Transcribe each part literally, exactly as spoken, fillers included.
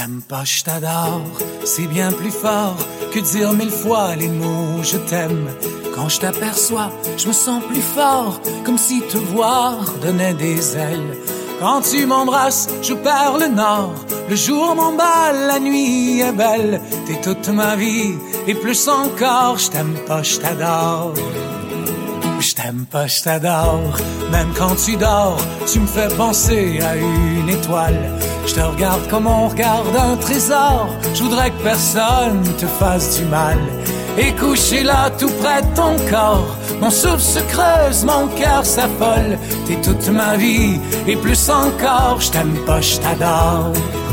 t'aime pas, je t'adore, c'est bien plus fort que dire mille fois les mots je t'aime. Quand je t'aperçois, je me sens plus fort, comme si te voir donnait des ailes. Quand tu m'embrasses, je perds le nord, le jour m'emballe, la nuit est belle. T'es toute ma vie, et plus encore, je t'aime pas, je t'adore. Je t'aime pas, je t'adore, même quand tu dors, tu me fais penser à une étoile. Je te regarde comme on regarde un trésor, je voudrais que personne te fasse du mal. Et couché là tout près de ton corps, mon souffle se creuse, mon cœur s'affole. T'es toute ma vie, et plus encore, je t'aime pas, je t'adore.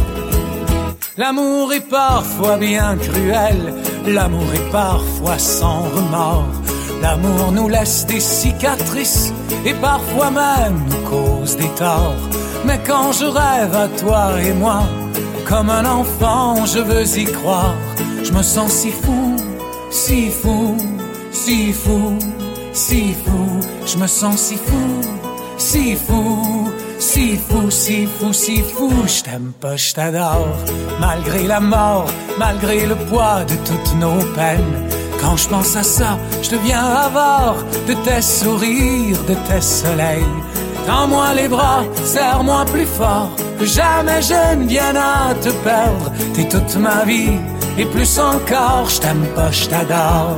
L'amour est parfois bien cruel, l'amour est parfois sans remords. L'amour nous laisse des cicatrices et parfois même nous cause des torts. Mais quand je rêve à toi et moi, comme un enfant je veux y croire. Je me sens si fou, si fou, si fou, si fou. Je me sens si fou, si fou, si fou, si fou, si fou. Je t'aime pas, je t'adore, malgré la mort, malgré le poids de toutes nos peines. Quand je pense à ça, je deviens avare de tes sourires, de tes soleils. Tends-moi les bras, serre-moi plus fort, que jamais je ne vienne à te perdre. T'es toute ma vie, et plus encore, je t'aime pas, je t'adore.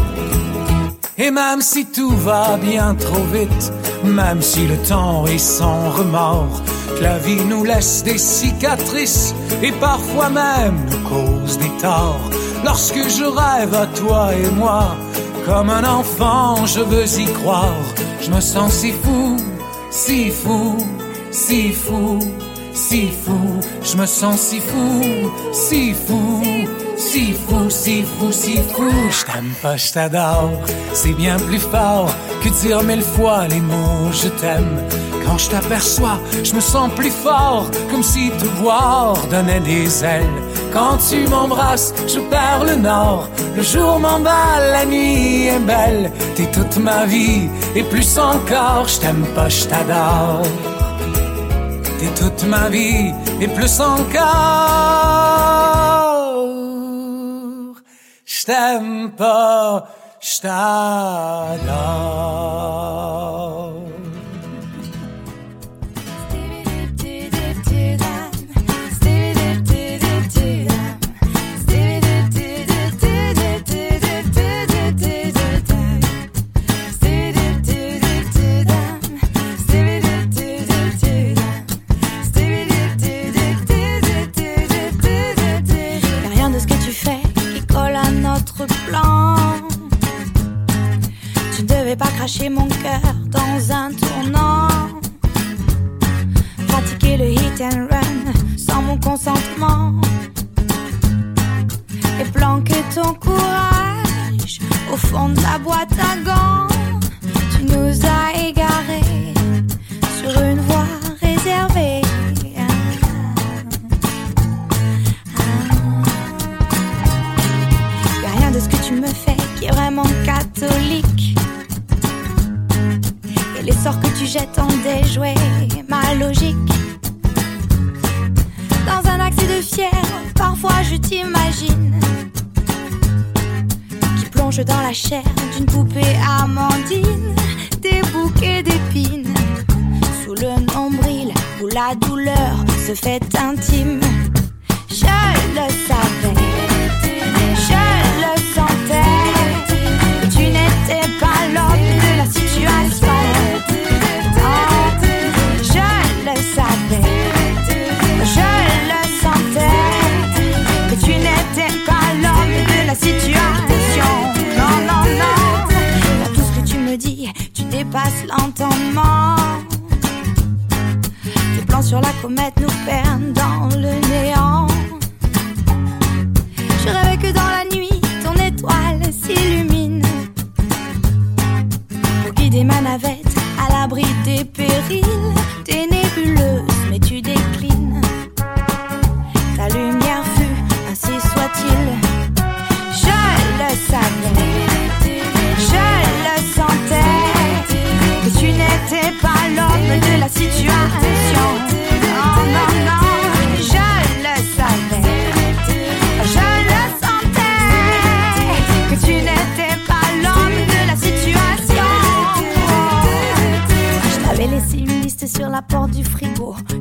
Et même si tout va bien trop vite, même si le temps est sans remords, que la vie nous laisse des cicatrices et parfois même nous cause des torts. Lorsque je rêve à toi et moi, comme un enfant je veux y croire. Je me sens si fou, si fou, si fou, si fou. Je me sens si fou, si fou, si fou, si fou, si fou. Je t'aime pas, je t'adore, c'est bien plus fort que dire mille fois les mots je t'aime. Quand je t'aperçois, je me sens plus fort, comme si te voir donnait des ailes. Quand tu m'embrasses, je perds le nord, le jour m'emballe, la nuit est belle. T'es toute ma vie, et plus encore, je t'aime pas, je t'adore. T'es toute ma vie, et plus encore, je t'aime pas, je t'adore. Pas cracher mon cœur dans un tournant, pratiquer le hit and run sans mon consentement, et planquer ton courage au fond de la boîte à gants. Tu nous as égarés sur une voie réservée. Y'a rien de ce que tu me fais qui est vraiment catholique. Les sorts que tu jettes en déjoué ma logique. Dans un accès de fièvre, parfois je t'imagine qui plonge dans la chair d'une poupée amandine, des bouquets d'épines sous le nombril où la douleur se fait intime. Je le savais, je le sentais, que tu n'étais pas l'homme de la situation. Passe l'entendement. Tes plans sur la comète nous perdent dans le néant. Je rêvais que dans la nuit ton étoile s'illumine pour guider ma navette à l'abri des périls. T'es nébuleuse mais tu déclines. Ta lumière fut, ainsi soit-il. Je le savais, je le sentais, que tu n'étais pas l'homme de la situation. Non, non, non, je le savais,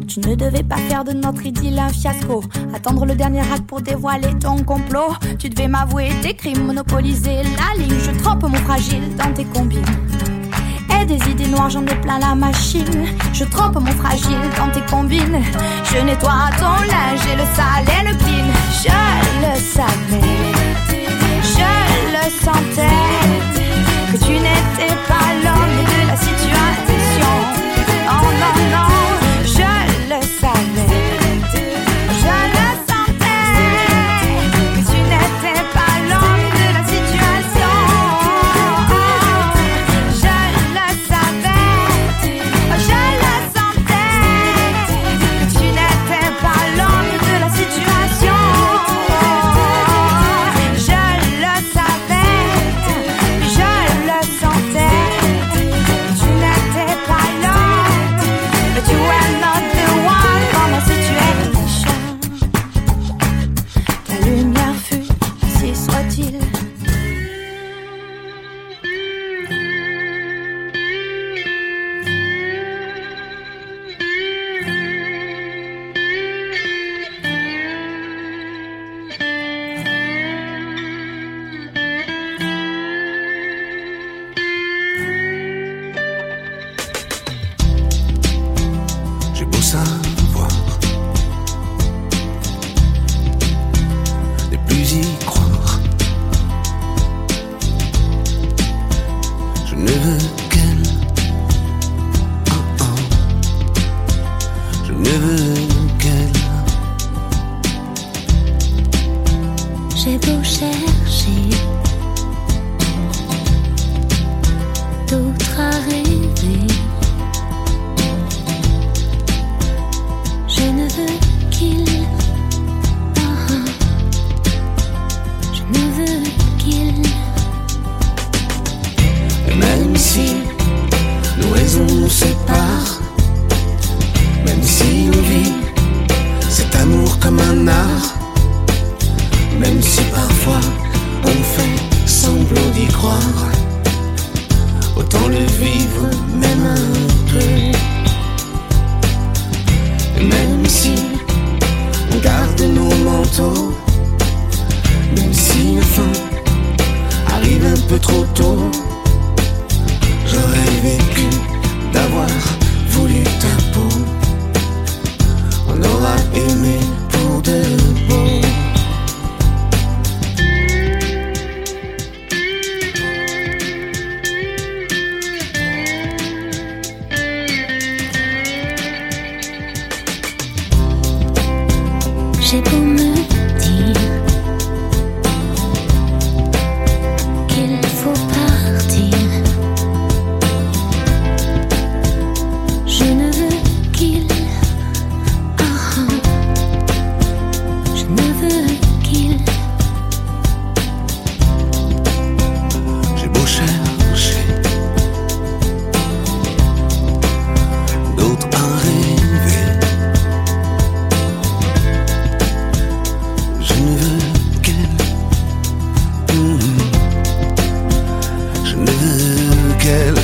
Tu ne devais pas faire de notre idylle un fiasco. Attendre le dernier acte pour dévoiler ton complot. Tu devais m'avouer tes crimes, monopoliser la ligne. Je trempe mon fragile dans tes combines. Et des idées noires, j'en ai plein la machine. Je trempe mon fragile dans tes combines. Je nettoie ton linge et le sale et le clean. Je le savais, je le sentais, que tu n'étais pas l'homme de la situation. Non, non, non, je le savais, je le sentais, que tu n'étais pas l'homme de la situation. Je le savais, je le sentais, que tu n'étais pas l'homme de la situation. Je le savais, je le sentais, que tu n'étais pas l'homme, but you were not the one dans ma situation. Ta lumière fut, ainsi soit-il. J'ai beau savoir, ne plus y croire. Je ne veux qu'elle, oh oh. Je ne veux qu'elle. J'ai beau chercher d'autres à rêver, je ne veux qu'il, oh, oh. Je ne veux qu'il. Et même si nos raisons nous séparent, même si on vit cet amour comme un art, même si parfois on fait semblant d'y croire, autant le vivre même un peu. Et même si on garde nos manteaux, même si la fin arrive un peu trop tôt, j'aurais vécu d'avoir voulu ta peau. On aura aimé pour de beau. J'ai beau me dire qu'il faut partir, je ne veux qu'il, oh, oh. Je ne veux qu'il. J'ai beau chercher d'autres à rêver, je ne veux qu'elle. Mmh. Je ne veux qu'elle.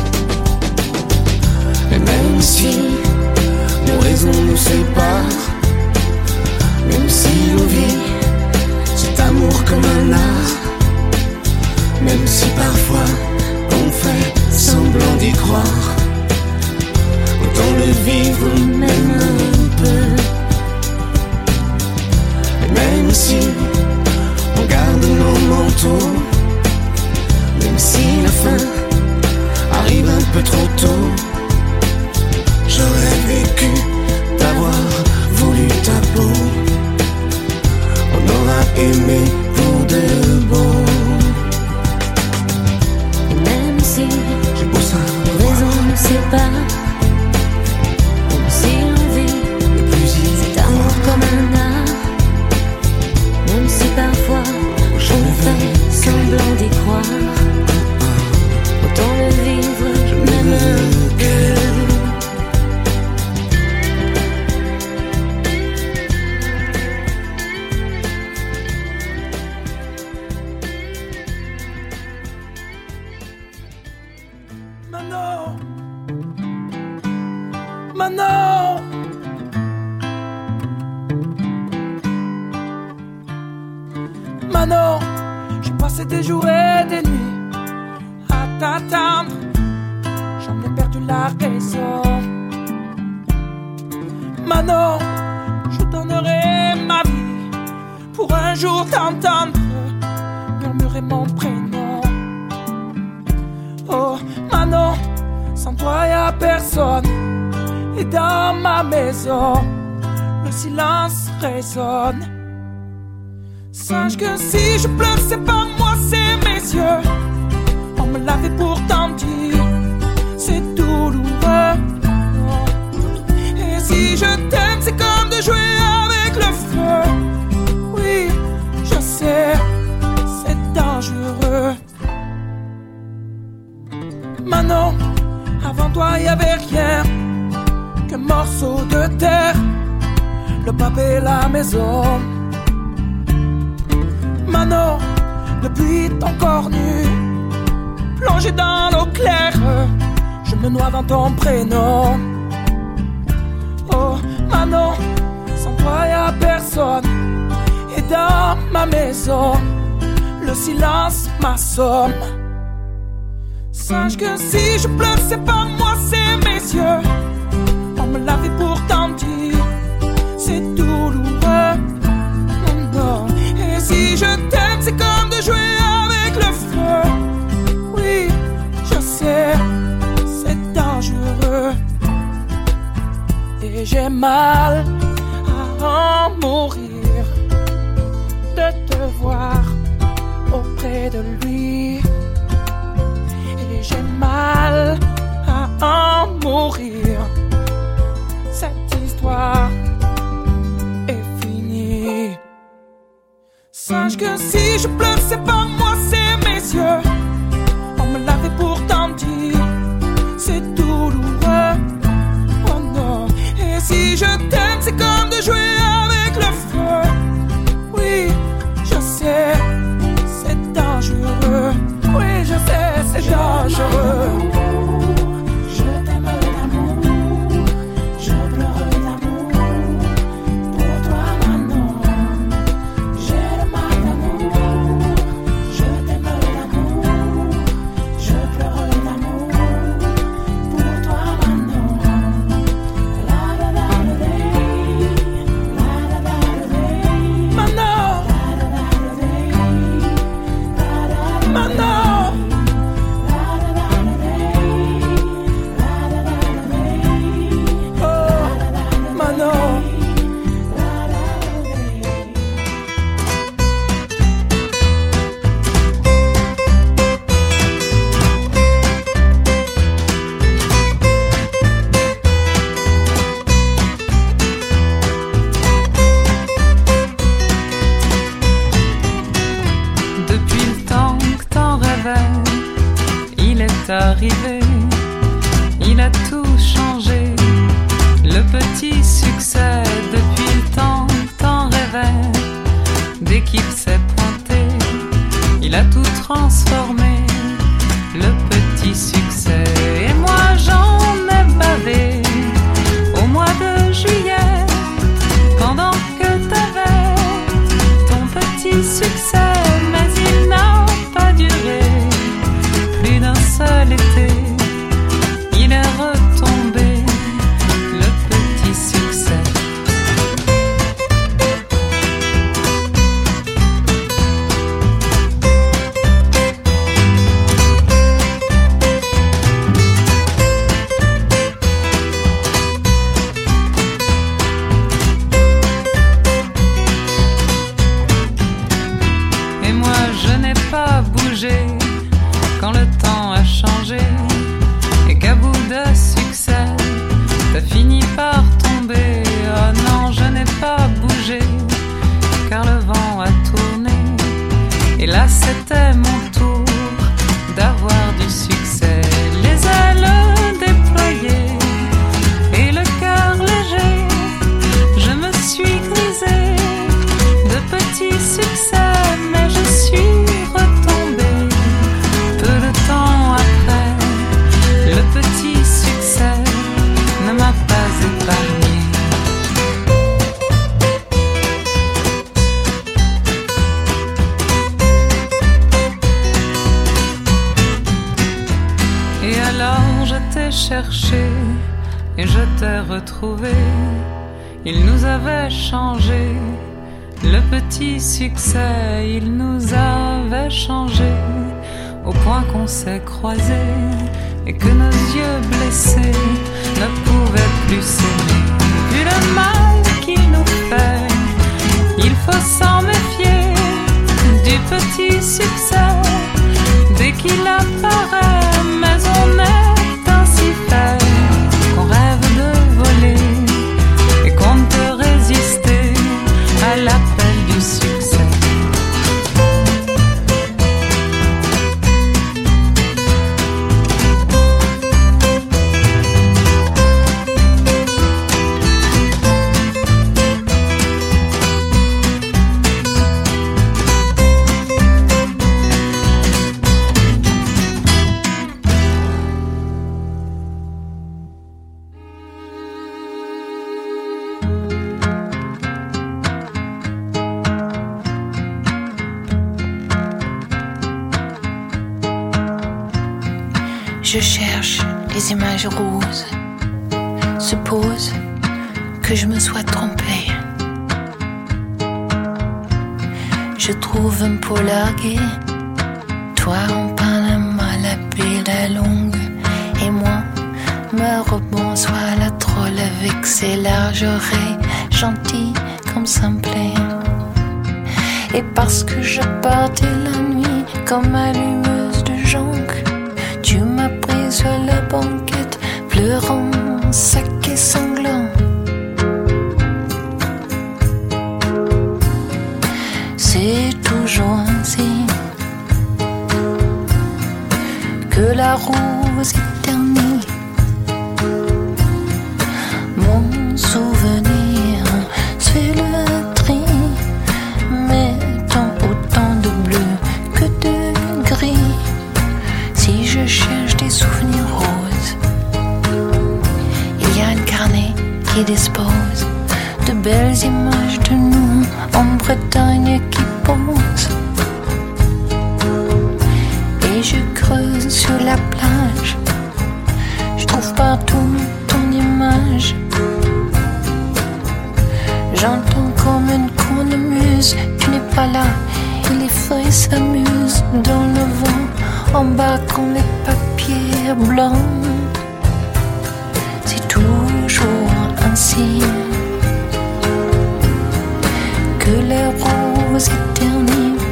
Et même si nos raisons nous séparent, même si on vit cet amour comme un art, même si parfois on fait semblant d'y croire, autant le vivre même un peu. Et même si on garde nos manteaux, même si la fin arrive un peu trop tôt, j'aurais vécu d'avoir voulu ta peau. On aura aimé pour de beau. Même si J'ai beau nos savoir, raisons nous séparent, même si on vit ne plus y cet amour comme un art, même si parfois je on ne veux fait semblant d'y croire, autant le vivre même un peu. Manon, Manon, Manon, j'ai passé des jours et des nuits à t'attendre. J'en ai perdu la raison. Manon, je donnerai ma vie pour un jour t'entendre murmurer mon prénom. Oh Manon, sans toi y'a personne. Et dans ma maison, le silence résonne. Sache que si je pleure, c'est pas moi, c'est mes yeux. On me l'avait pourtant dit, c'est douloureux. Et si je t'aime, c'est comme de jouer avec le feu. Oui, je sais, c'est dangereux. Manon, avant toi y'avait rien qu'un morceau de terre, le pavé, la maison. Manon, depuis ton corps nu, plongé dans l'eau claire, je me noie dans ton prénom. Oh Manon, sans toi y'a personne. Et dans ma maison, le silence m'assomme. Sache que si je pleure, c'est pas moi, c'est mes yeux. On me l'avait pourtant dit, c'est douloureux. Oh non. Et si je t'aime, c'est comme de jouer avec le feu. Oui, je sais, c'est dangereux. Et j'ai mal à en mourir de te voir auprès de lui. Et j'ai mal à en mourir. Cette histoire est finie. Sache que si je pleure, c'est pas moi, c'est mes yeux. On me l'avait pourtant dit, c'est douloureux. Oh non. Et si je t'aime, c'est comme de jouer avec le feu. Oui, je sais, c'est dangereux. Oui, je sais, c'est dangereux. Je t'aime d'amour, je pleure d'amour. Pour toi, Manon, j'ai le mal d'amour. Je t'aime d'amour, je pleure d'amour. Pour toi, Manon. La la la la la la la. Manon, Manon. Arrivé, il a tout changé. Le petit succès depuis le temps que t'en rêvais. Dès qu'il s'est pointé, il a tout transformé. Le petit succès. Et moi j'en ai bavé au mois de juillet, pendant que t'avais ton petit succès. Mais il n'a pas duré plus d'un seul été, il est retombé, le petit succès. Et moi je n'ai pas bougé quand le temps a changé, et qu'à bout de succès, t'as fini par tomber. Oh non, je n'ai pas bougé, car le vent a tourné, et là c'était mon tour d'avoir du succès. Les ailes déployées et le cœur léger, je me suis grisée de petits succès, mais je suis retombée peu de temps après. Le petit succès ne m'a pas épargné. je t'ai cherché et je t'ai retrouvé. Il nous avait changé, le petit succès, il nous avait changé, au point qu'on s'est croisés et que nos yeux blessés ne pouvaient plus s'aimer. Vu le mal qu'il nous fait, il faut s'en méfier du petit succès dès qu'il apparaît, mais on est ainsi fait qu'on rêve de voler et qu'on ne peut résister à l'appel du succès. Je cherche les images roses. Suppose que je me sois trompée. Je trouve un peu largué, toi en Panama, la pile longue, et moi, ma robe en soie, la troll avec ses larges oreilles, gentille comme ça me plaît. Et parce que je partais la nuit comme allumeuse de jonque, tu m'as pris sur la banquette, pleurant, sac et sanglant. C'est toujours ainsi que la rose éternise mon souvenir se fait le tri, mettant autant de bleu que de gris. Si je cherche des souvenirs roses, il y a un carnet qui dispose de belles images de nous en Bretagne qui posent. Et je creuse sur la plage, je trouve partout ton image. J'entends comme une cornemuse, tu n'es pas là, et les feuilles s'amusent dans le vent, embarquant les papiers blancs. C'est toujours ainsi que les roses éternisent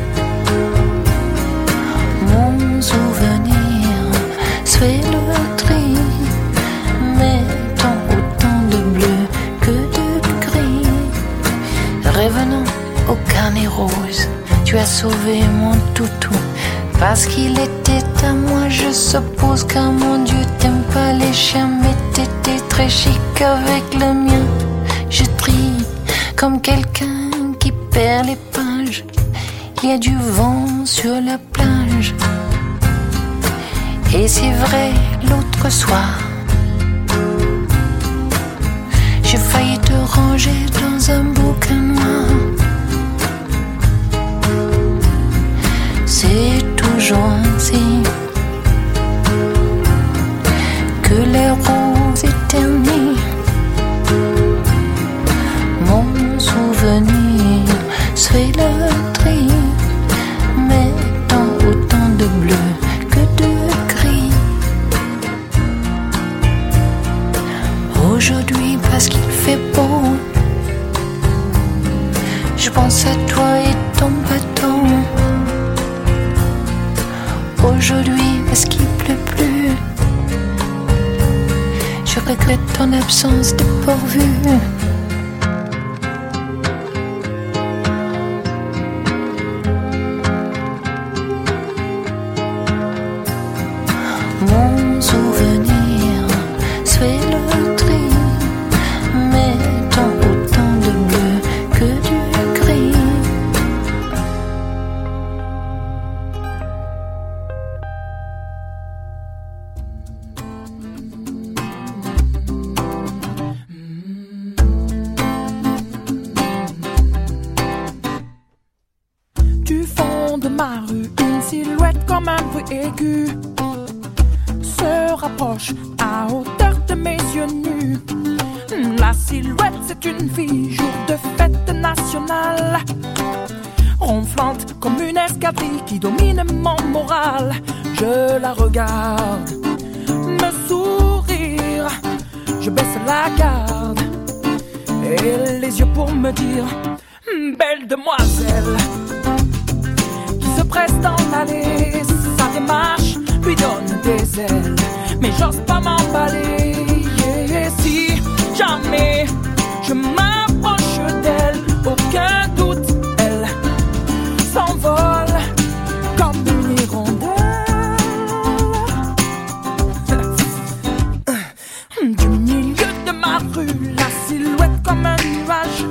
mon souvenir se fait le tri, mettant autant de bleu que de gris. Revenons au carnet rose, tu as sauvé mon toutou parce qu'il était à moi. Je suppose car mon Dieu t'aime pas les chiens, mais t'étais très chic avec le mien. Je trie comme quelqu'un qui perd les pages. Il y a du vent sur la plage. Et c'est vrai, l'autre soir, j'ai failli te ranger dans un bouquin noir. C'est toujours ainsi que les roses éternisent mon souvenir se fait le tri, mettant autant de bleu que de gris. Aujourd'hui parce qu'il fait beau, je pense à toi et ton bateau. Aujourd'hui parce qu'il pleut plus, je regrette ton absence dépourvue. Mon souvenir se fait le tri, mettant autant de bleu que du gris. Du fond de ma rue, une silhouette comme un bruit aigu se rapproche à hauteur de mes yeux nus. La silhouette, c'est une fille, jour de fête nationale, ronflante comme une escadrille qui domine mon moral. Je la regarde, me sourire, je baisse la garde et les yeux pour me dire: belle demoiselle, qui se presse dans l'allée, sa démarche lui donne des ailes, mais j'ose pas m'emballer. Et si jamais je m'approche d'elle, aucun doute, elle s'envole comme une hirondelle. Du milieu de ma rue, la silhouette comme un nuage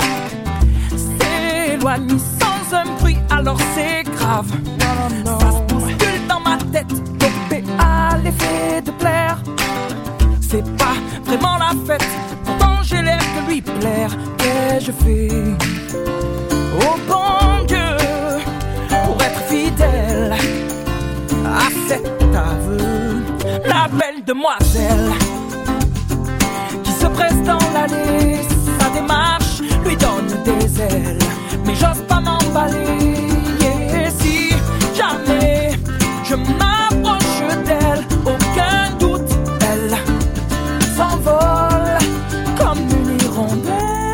s'éloigne sans un bruit, alors c'est grave. Ça se bouscule dans ma tête, dopé à l'effet de plaire. C'est pas vraiment la fête, pourtant j'ai l'air de lui plaire. Qu'ai-je fait, oh bon Dieu, pour être fidèle à cet aveu? La belle demoiselle qui se presse dans l'allée, sa démarche lui donne des ailes, mais j'ose pas m'emballer. Et si jamais je m'approche d'elle, aucun doute, elle s'envole comme une hirondelle.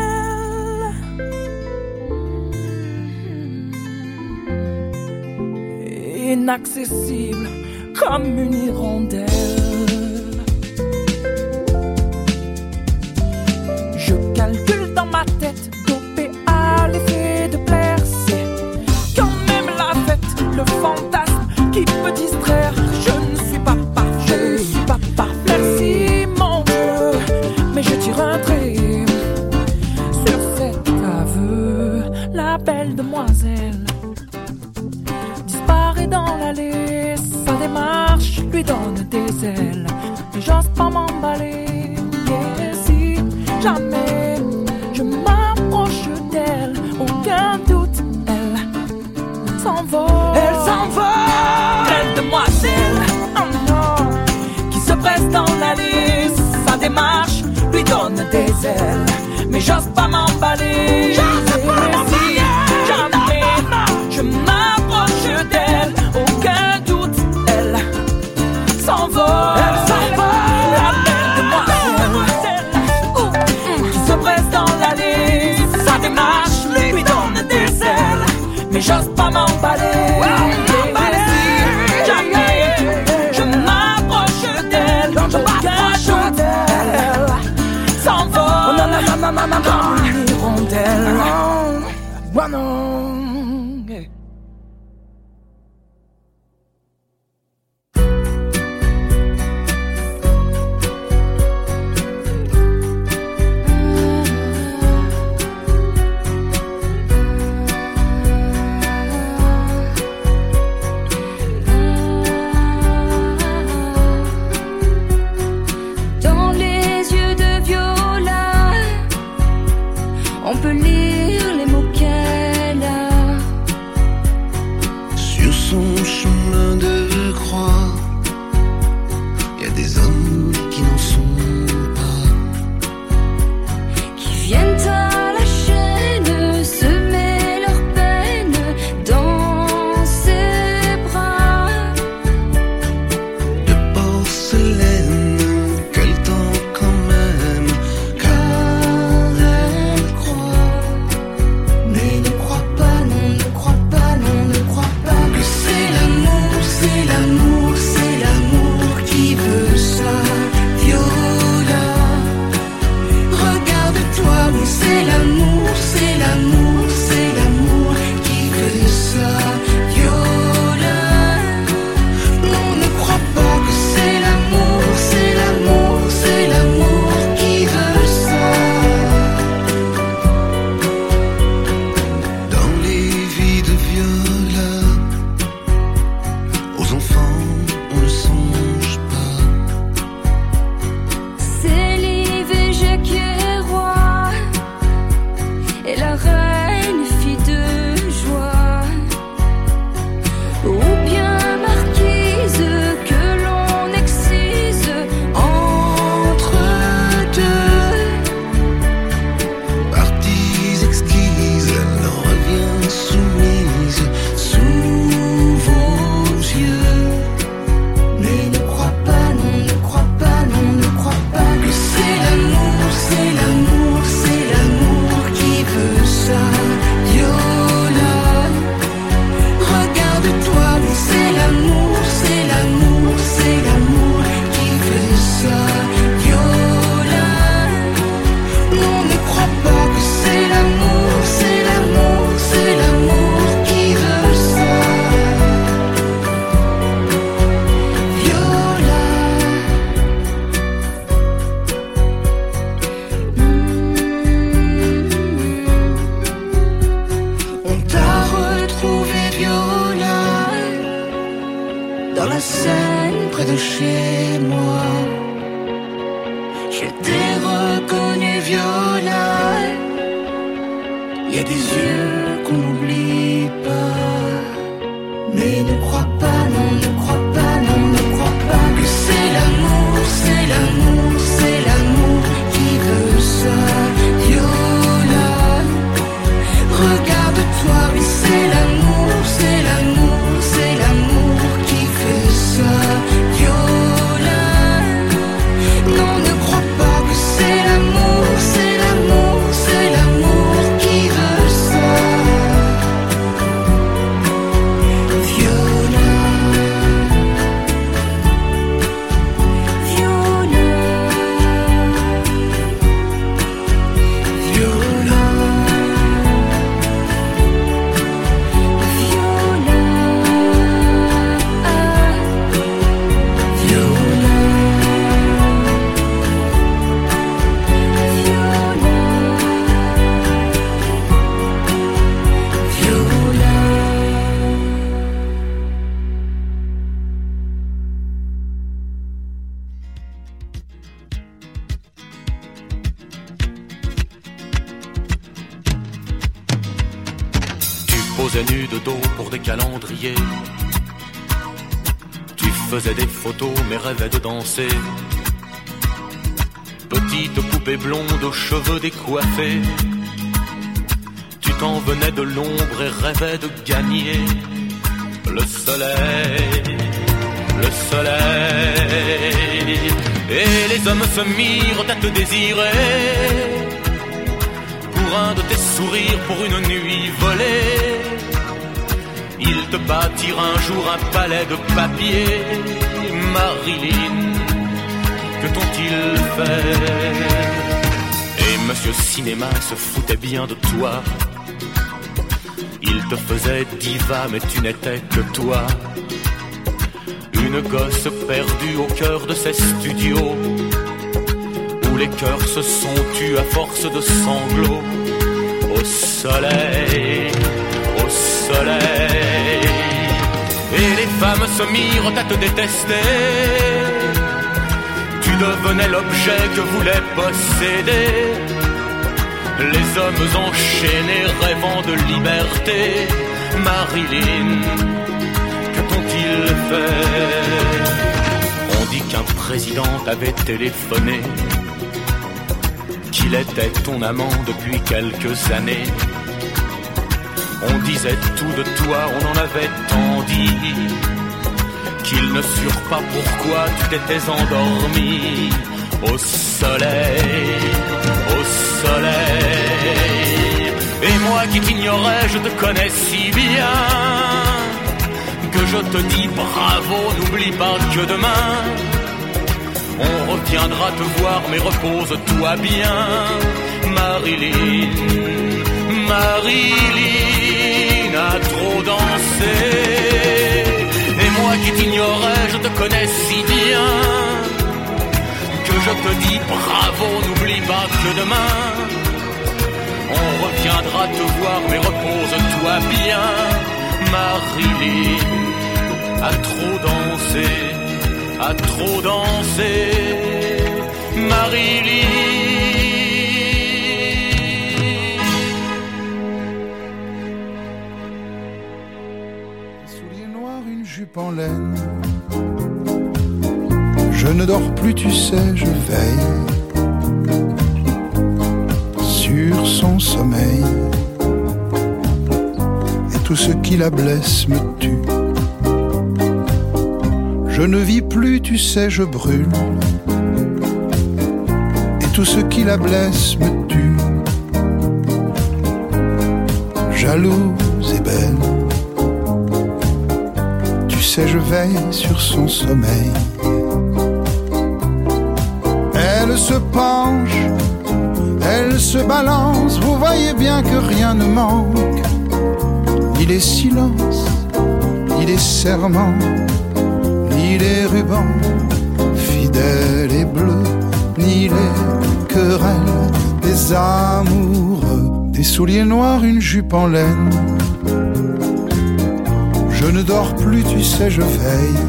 Inaccessible comme une hirondelle. Je calcule dans ma tête, dopé à l'effet de plaire. C'est quand même la fête, le fantasme qui peut distraire. Je ne suis pas parfait, je ne suis pas parfait. Merci mon Dieu, mais je tire un trait sur cet aveu. La belle demoiselle disparaît dans l'allée, sa démarche lui donne des ailes, mais j'ose pas m'emballer. Et si jamais je m'approche d'elle, aucun doute, elle s'envole. Elle s'envole, belle demoiselle, oh non, qui se presse dans l'allée, sa démarche lui donne des ailes, mais j'ose pas m'emballer. Si jamais je m'approche d'elle, aucun doute, elle s'envole. Elle s'envole, la belle demoiselle qui se presse dans l'allée, sa démarche lui donne des ailes, mais j'ose pas m'emballer. Si jamais je m'approche d'elle, aucun doute, elle s'envole comme une hirondelle. Oh non. Dans les yeux de Viola, on peut lire les mots qu'elle a. Sur son chemin de croix, y a des hommes qui n'en sont pas, Qui viennent à la chaîne semer leur peine dans ses bras. de porcelaine qu'elle tend quand même, car elle croit. Mais ne crois pas, non, ne crois pas, non, ne crois pas Que c'est l'amour, c'est l'amour, c'est l'amour qui veut ça, Viola. Regarde-toi, oui, c'est l'amour, c'est l'amour, c'est l'amour qui veut ça, Viola. Non, ne crois pas que c'est l'amour, c'est l'amour, c'est l'amour qui veut ça. Dans les vies de Viola, aux enfants on ne songe pas. C'est l'I V G qui est roi et la reine fille de joie, ou bien marquise que l'on excite dans la Seine près de chez moi. Je t'ai reconnu Viola. Il y a des yeux qu'on n'oublie pas. Mais ne crois pas, non, ne crois pas, non, ne crois pas que c'est l'amour, c'est l'amour, c'est l'amour qui veut ça. Viola, regarde-toi, oui c'est l'amour, c'est l'amour, c'est l'amour qui fait ça. Viola, non, ne crois pas que c'est l'amour, c'est l'amour, c'est l'amour qui veut ça. Viola, Viola, Viola, Tu posais nu de dos pour des calendriers. Tu faisais des photos mais rêvais de danser. Petite poupée blonde aux cheveux décoiffés. Tu t'en venais de l'ombre et rêvais de gagner le soleil, le soleil. Et les hommes se mirent à te désirer pour un de tes sourires, pour une nuit volée. Ils te bâtirent un jour un palais de papier. Marilyn, que t'ont-ils fait? Et Monsieur Cinéma se foutait bien de toi. Il te faisait diva mais tu n'étais que toi. Une gosse perdue au cœur de ces studios où les cœurs se sont tus à force de sanglots. Au soleil, au soleil. Et les femmes se mirent à te détester. Tu devenais l'objet que voulait posséder. Les hommes enchaînés rêvant de liberté. Marilyn, que t'ont-ils fait? On dit qu'un président t'avait téléphoné, qu'il était ton amant depuis quelques années. On disait tout de toi, on en avait tant dit, qu'ils ne surent pas pourquoi tu t'étais endormi. Au soleil, au soleil. Et moi qui t'ignorais, je te connais si bien que je te dis bravo, n'oublie pas que demain on reviendra te voir, mais repose-toi bien. Marilyn, Marilyn a trop dansé. Et moi qui t'ignorais, je te connais si bien que je te dis bravo, n'oublie pas que demain on reviendra te voir, mais repose-toi bien. Marilyn a trop dansé, a trop dansé. Marilyn. Souliers noirs, une jupe en laine. Je ne dors plus, tu sais, je veille sur son sommeil. Et tout ce qui la blesse me tue. Je ne vis plus, tu sais, je brûle. Et tout ce qui la blesse me tue. Jalouse et belle, tu sais, je veille sur son sommeil. Elle se penche, elle se balance, vous voyez bien que rien ne manque. Ni les silences, ni les serments, ni les rubans fidèles et bleus, ni les querelles des amoureux. Des souliers noirs, une jupe en laine. Je Je ne dors plus, tu sais, je veille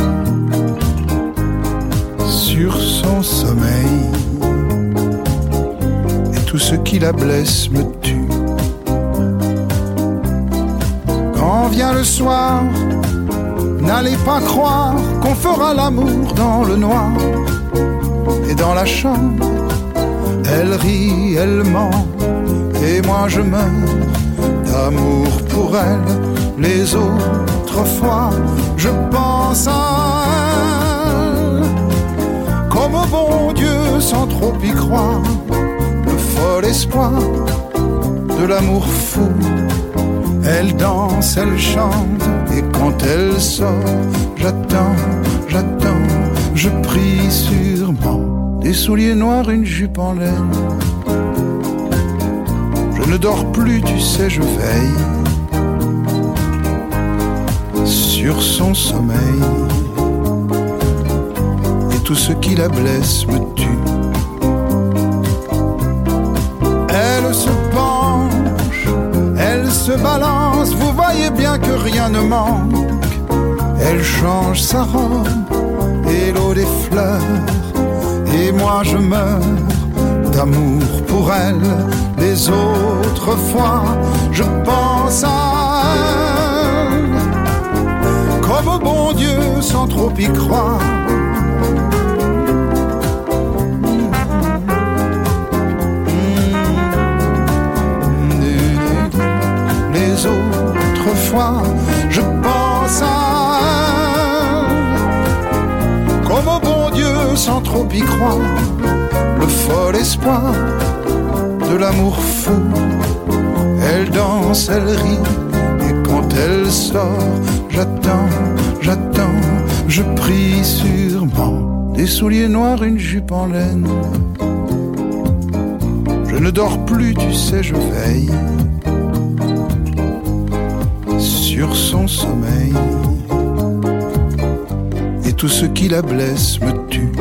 sur son sommeil. Et tout ce qui la blesse me tue. Quand vient le soir, n'allez pas croire qu'on fera l'amour dans le noir. Et dans la chambre, elle rit, elle ment, et moi je meurs d'amour pour elle. Les autres fois, je pense à elle comme au bon Dieu sans trop y croire. Le fol espoir de l'amour fou. Elle danse, elle chante, et quand elle sort, j'attends, j'attends, je prie sûrement. Des souliers noirs, une jupe en laine. Je ne dors plus, tu sais, je veille sur son sommeil. Et tout ce qui la blesse me tue. Elle se penche, elle se balance, vous voyez bien que rien ne manque. Elle change sa robe et l'eau des fleurs. Et moi je meurs d'amour pour elle. Les autres fois, je pense à elle comme au bon Dieu sans trop y croire. Les autres fois, je pense à elle comme au bon Dieu sans trop y croire. Le fol espoir de l'amour fou. Elle danse, elle rit, et quand elle sort, j'attends, j'attends, je prie sûrement. Des souliers noirs, une jupe en laine. Je ne dors plus, tu sais, je veille sur son sommeil. Et tout ce qui la blesse me tue.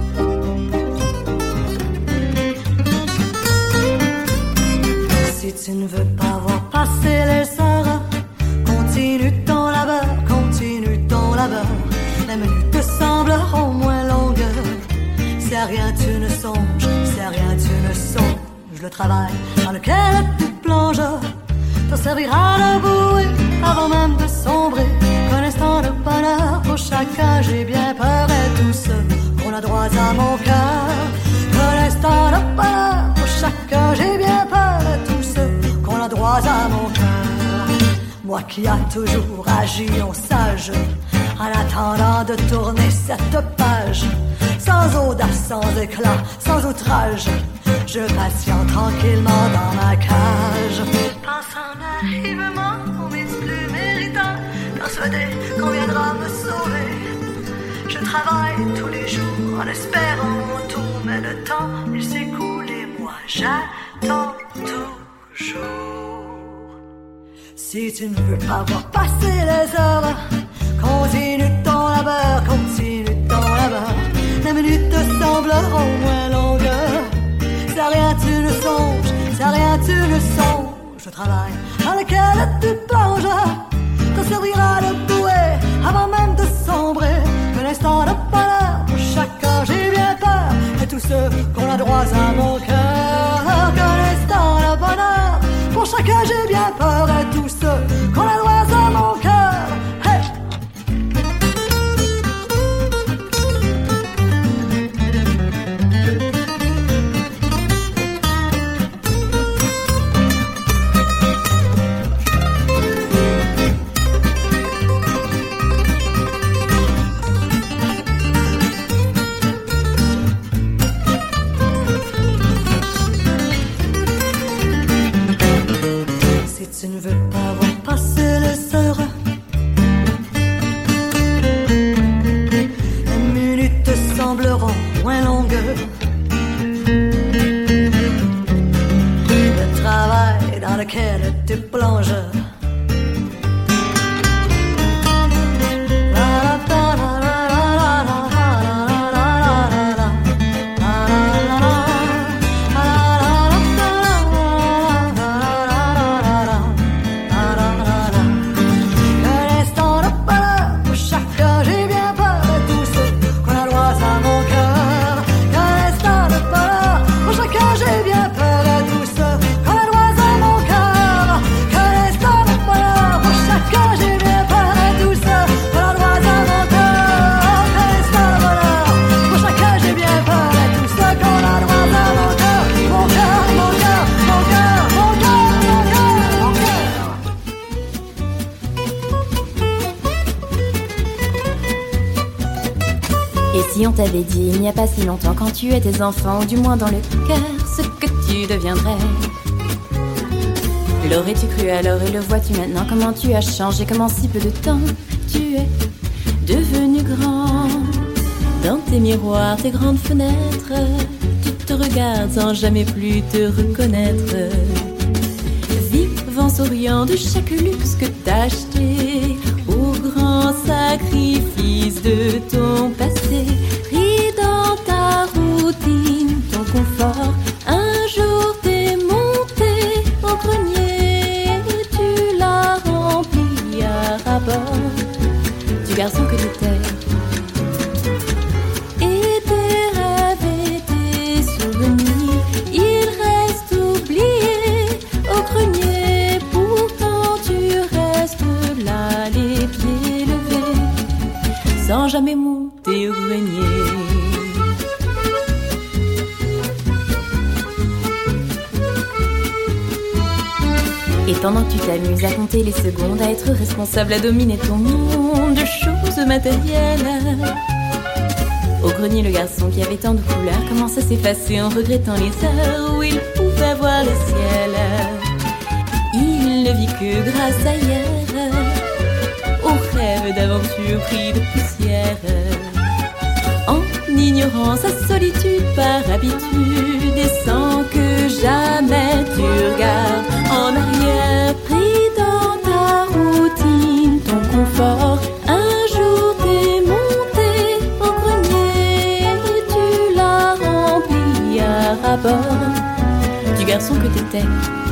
Si tu ne veux pas voir passer les heures, continue ton labeur, continue ton labeur. Les minutes te sembleront moins longues. Si à rien tu ne songes, si à rien tu ne songes, le travail dans lequel tu plonges te servira de bouée avant même de sombrer. Qu'un instant de bonheur pour chacun, j'ai bien peur, et tous ceux qu'on a droit à mon cœur. Qu'un instant de bonheur pour chacun, j'ai bien peur, et tous ceux qu'on a droit à mon cœur. Moi qui a toujours agi en sage, en attendant de tourner cette page, sans audace, sans éclat, sans outrage, je patiente tranquillement dans ma cage. Pensant naïvement aux mythes plus méritants, persuadé qu'on viendra me sauver. Je travaille tous les jours en espérant mon tour, mais le temps il s'écoule et moi j'attends toujours. Si tu ne veux pas voir passer les heures, continue ton labeur, continue ton labeur. Les minutes te sembleront moins longues. Si à rien tu ne songes, si à rien tu ne songes, le travail dans lequel tu plonges te servira de bouée avant même de sombrer. Un instant de bonheur pour chacun, j'ai bien peur, et tous ceux qu'on a droit à mon cœur. Qu'un instant de bonheur pour chacun, j'ai bien peur, et tous ceux qu'on a droit à mon cœur. Hey! Et si on t'avait dit il n'y a pas si longtemps, quand tu étais enfant, ou du moins dans le cœur, ce que tu deviendrais? L'aurais-tu cru alors et le vois-tu maintenant? Comment tu as changé, comment si peu de temps tu es devenu grand. Dans tes miroirs, tes grandes fenêtres, tu te regardes sans jamais plus te reconnaître. Vivant, souriant de chaque luxe que t'as acheté, au grand sacrifice de ton passé, pris dans ta routine, ton confort. Un jour t'es monté au grenier, tu l'as rempli à ras-bord du garçon que t'étais. Et tes rêves et tes souvenirs, ils restent oubliés au grenier. Pourtant tu restes là, les pieds levés, sans jamais monter au grenier. Et pendant que tu t'amuses à compter les secondes, à être responsable, à dominer ton monde de choses matérielles, au grenier, le garçon qui avait tant de couleurs commence à s'effacer en regrettant les heures où il pouvait voir le ciel. Il ne vit que grâce à hier, au rêve d'aventure pris de poussière, en ignorant sa solitude par habitude, et sans que jamais tu regardes en arrière, pris dans ta routine, ton confort. Un jour t'es monté au grenier, tu l'as rempli à ras-bord du garçon que t'étais.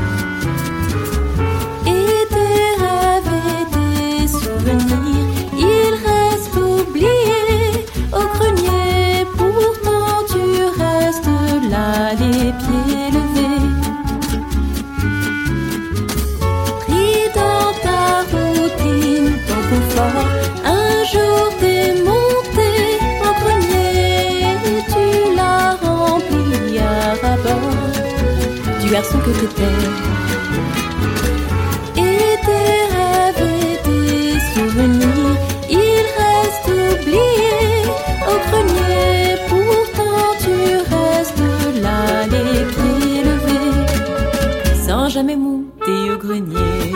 Et tes rêves et tes souvenirs, ils restent oubliés au grenier. Pourtant tu restes là, les pieds levés, pris dans ta routine, ton confort. Un jour t'es monté au grenier, tu l'as rempli à ras-bord du garçon que t'étais. Et tes rêves et tes souvenirs, ils restent oubliés au grenier. Pourtant tu restes là, les pieds levés, sans jamais monter au grenier.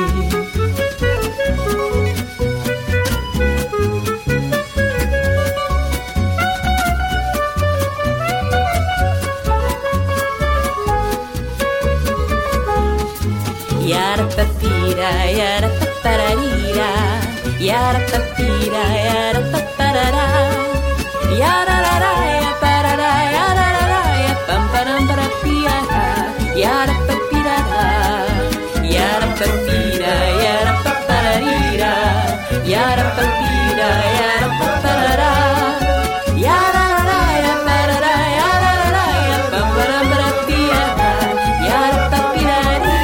Yara papira, yara papararira, yara papira, yara paparara, yara la la, ya parara, yara la la, ya pam param parapia, yara papira, yara papira, yara papararira, yara papira, yara paparara, yara la la, ya parara, yara la la, ya pam param parapia, yara papira.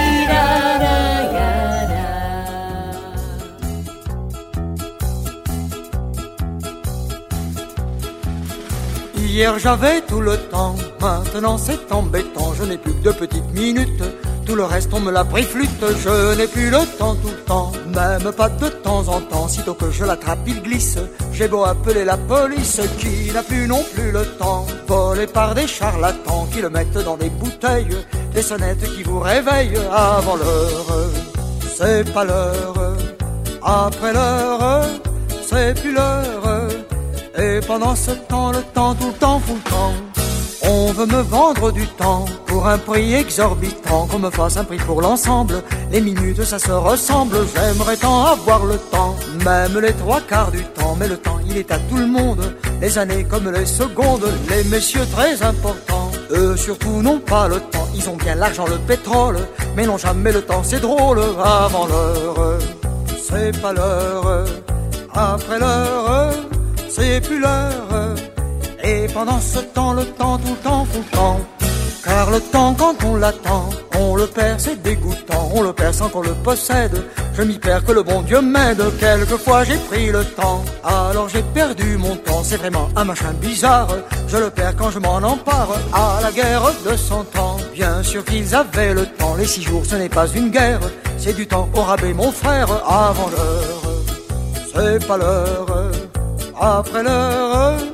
Hier j'avais tout le temps, maintenant c'est embêtant. Je n'ai plus que deux petites minutes, tout le reste on me l'a pris flûte. Je n'ai plus le temps tout le temps, même pas de temps en temps. Sitôt que je l'attrape il glisse, j'ai beau appeler la police, qui n'a plus non plus le temps. Volé par des charlatans qui le mettent dans des bouteilles, des sonnettes qui vous réveillent avant l'heure. C'est pas l'heure, après l'heure, c'est plus l'heure. Et pendant ce temps, le temps, tout le temps, fout le temps. On veut me vendre du temps pour un prix exorbitant, qu'on me fasse un prix pour l'ensemble. Les minutes, ça se ressemble, j'aimerais tant avoir le temps, même les trois quarts du temps. Mais le temps, il est à tout le monde, les années comme les secondes. Les messieurs très importants, eux surtout n'ont pas le temps. Ils ont bien l'argent, le pétrole, mais n'ont jamais le temps, c'est drôle. Avant l'heure, c'est pas l'heure, après l'heure, c'est plus l'heure. Et pendant ce temps, le temps, tout le temps, fout le temps. Car le temps, quand on l'attend, on le perd, c'est dégoûtant. On le perd sans qu'on le possède. Je m'y perds, que le bon Dieu m'aide. Quelquefois j'ai pris le temps, alors j'ai perdu mon temps. C'est vraiment un machin bizarre. Je le perds quand je m'en empare. À la guerre de cent ans, bien sûr qu'ils avaient le temps. Les six jours, ce n'est pas une guerre, c'est du temps au rabais, mon frère. Avant l'heure, c'est pas l'heure, après l'heure,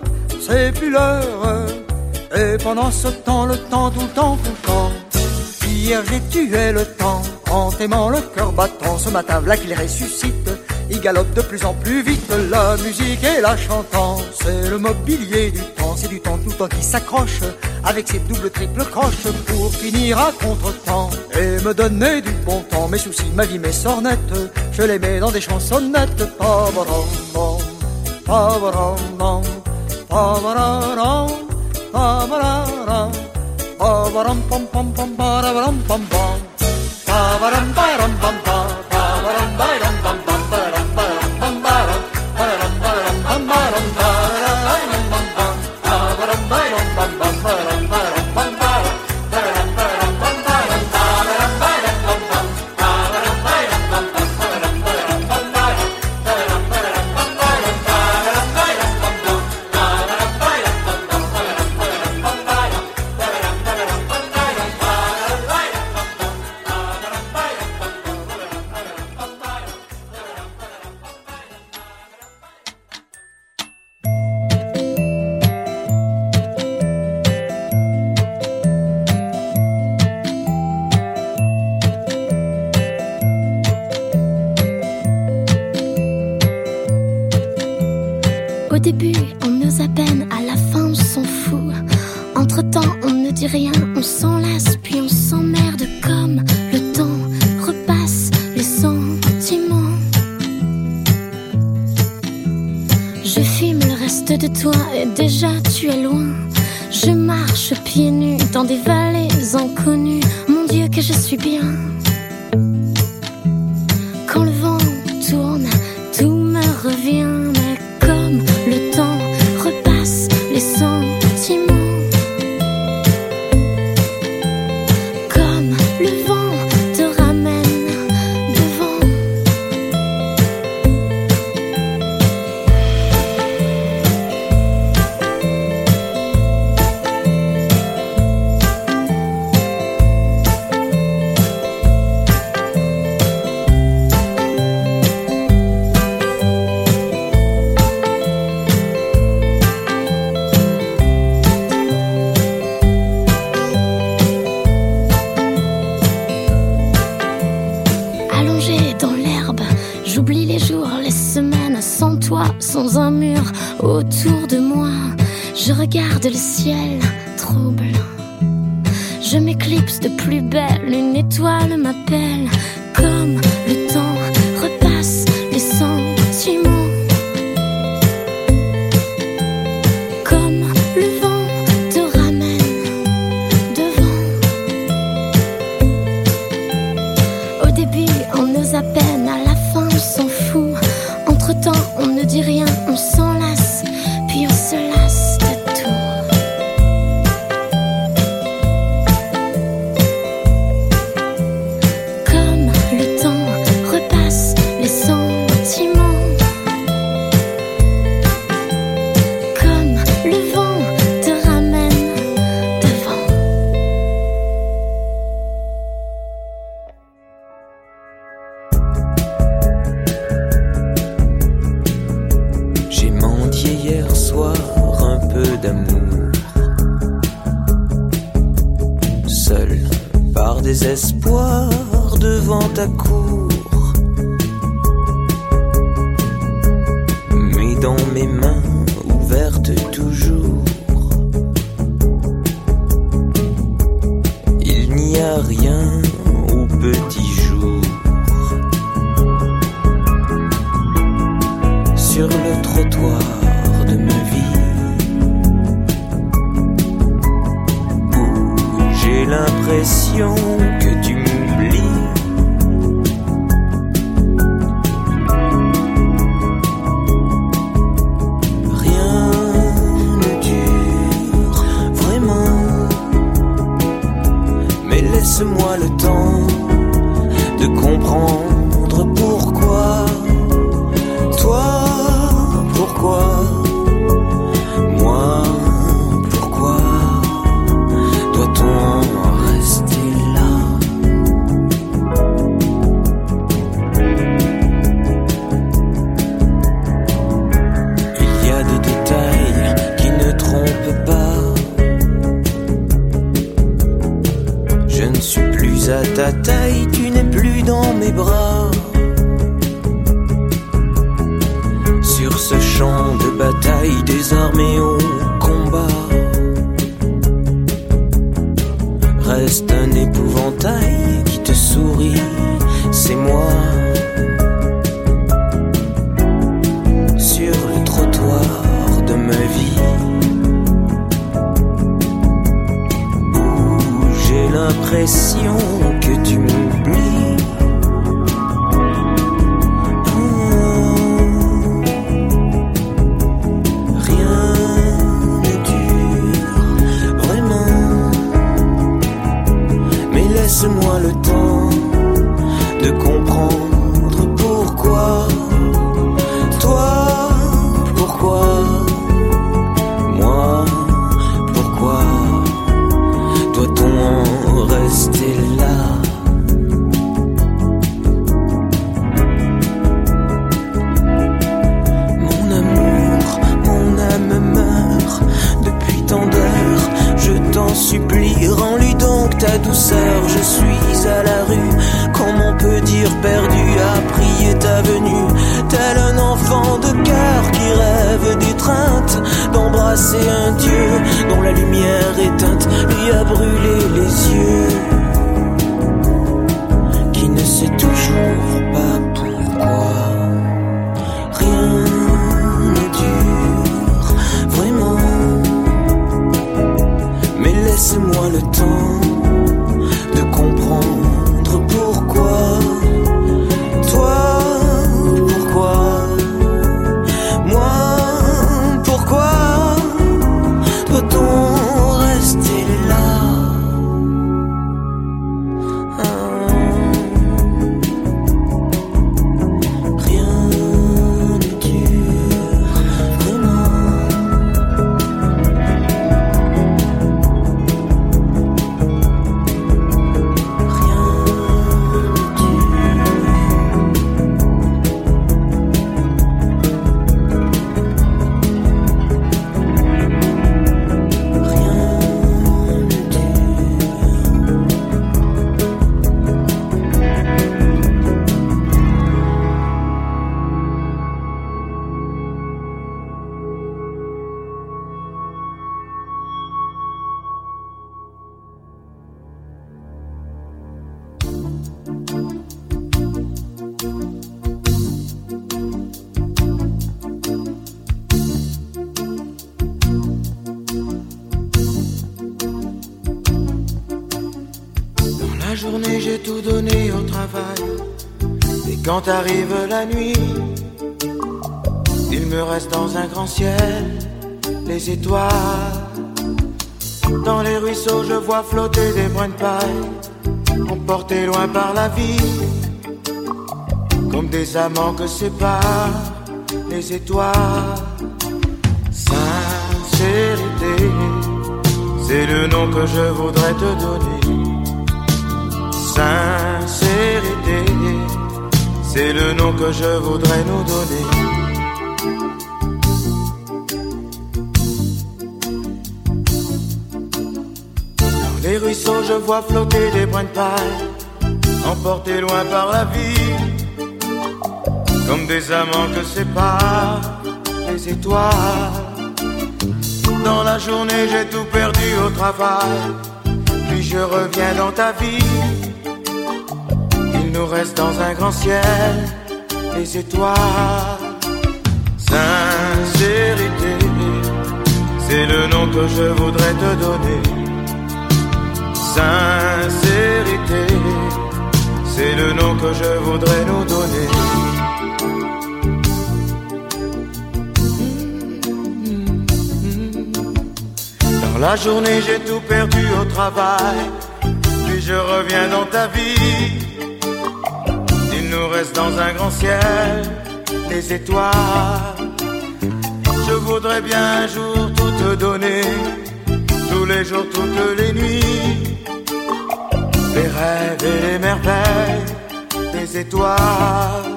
c'est plus l'heure. Et pendant ce temps, le temps, tout le temps, tout le temps, hier j'ai tué le temps en t'aimant le cœur battant. Ce matin, voilà qu'il ressuscite, il galope de plus en plus vite. La musique et la chantant, c'est le mobilier du temps. C'est du temps tout le temps qui s'accroche avec ses doubles triples croches pour finir à contre-temps et me donner du bon temps. Mes soucis, ma vie, mes sornettes, je les mets dans des chansonnettes. Pa-ba-ram-bam, pa-ba-ram-bam, pa-ba-ra-ram, pa-ba-ra-ram, pa-ba-ram-pam-pam-pam, pa-ra-ram-pam-pam, pa-ba-ram-ba-ram-pam-pam, pa-ba-ram-ba-ram-pam-pam. Au début, on ose à peine, à la fin, on s'en fout. Entre-temps, on ne dit rien, on s'enlace, puis on s'emmerde comme le temps repasse les sentiments. Je filme le reste de toi et déjà tu es loin. Je marche pieds nus dans des vallées inconnues. Mon Dieu que je suis bien. Quand le vent tourne, tout me revient. Mais comme le temps repasse les sentiments, comme le vent te ramène devant. Sans un mur autour de moi, je regarde le ciel trouble. Je m'éclipse de plus belle, une étoile m'appelle. Comme le temps repasse les sentiments, comme le vent te ramène devant. Au début, on ose à peine, à la fin, on s'en fout. Entre-temps, on ne dit rien, on s'enlace, puis on se lasse de tout. Comme le temps repasse les sentiments, comme le vent te ramène devant. Hier soir, un peu d'amour, seul par désespoir devant ta cour. Mais dans mes mains ouvertes toujours, il n'y a rien au petit jour. Sur le trottoir de ma vie, où j'ai l'impression que tu m'oublies. Rien ne dure vraiment, mais laisse-moi le temps de comprendre pourquoi. Toi, pourquoi? Moi, pourquoi doit-on rester là? Il y a des détails qui ne l'impression que tu m'oublies. Laisse-moi le temps de comprendre pourquoi. Toi, pourquoi? Moi, pourquoi doit-on en rester là? Mon amour, mon âme meurt depuis tant d'heures. Je t'en supplie, rends-lui donc ta douceur. Je suis à la rue, comment on peut dire perdu, à prier ta venue, tel un enfant de cœur qui rêve d'étreinte, d'embrasser un Dieu dont la lumière éteinte lui a brûlé les yeux, qui ne sait toujours pas pourquoi. Rien ne dure vraiment, mais laisse-moi le temps de comprendre pourquoi. Toi, pourquoi? Moi, pourquoi doit-on rester là? Ah. Rien ne dure vraiment. Dans la journée j'ai tout donné au travail, et quand arrive la nuit, il me reste dans un grand ciel les étoiles. Dans les ruisseaux je vois flotter des brins de paille, emportés loin par la vie, comme des amants que séparent les étoiles. Sincérité, c'est le nom que je voudrais te donner. Sincérité, c'est le nom que je voudrais nous donner. Dans les ruisseaux je vois flotter des brins de paille, emportés loin par la vie, comme des amants que séparent les étoiles. Dans la journée j'ai tout perdu au travail, puis je reviens dans ta vie. Il nous reste dans un grand ciel les étoiles. Sincérité, c'est le nom que je voudrais te donner. Sincérité, c'est le nom que je voudrais nous donner. Dans la journée j'ai tout perdu au travail, puis je reviens dans ta vie. Il nous reste dans un grand ciel les étoiles. Je voudrais bien un jour tout te donner, tous les jours, toutes les nuits, les rêves et les merveilles des étoiles.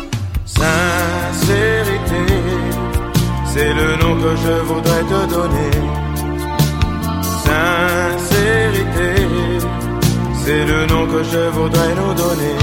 Sincérité, c'est le nom que je voudrais te donner. Sincérité, c'est le nom que je voudrais nous donner.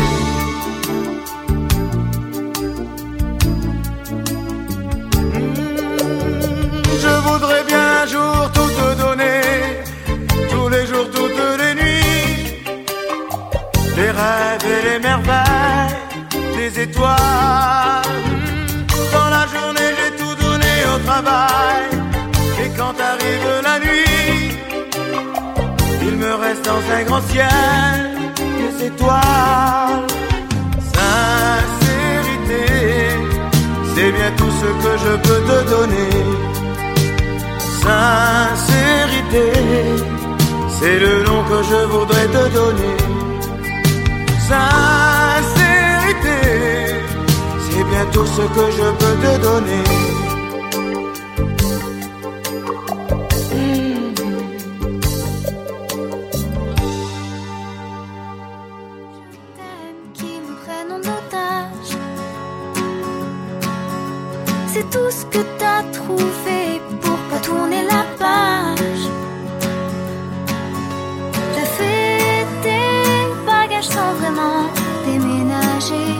Je voudrais bien un jour tout te donner, tous les jours, toutes les nuits, les rêves et les merveilles des étoiles. Dans la journée j'ai tout donné au travail, et quand arrive la nuit, il me me reste dans un grand ciel des étoiles. Sincérité, c'est bien tout ce que je peux te donner. Sincérité, c'est le nom que je voudrais te donner. Sincérité, c'est bien tout ce que je peux te donner. C'est tout ce que t'as trouvé pour pas tourner la page. T'as fait tes bagages sans vraiment déménager.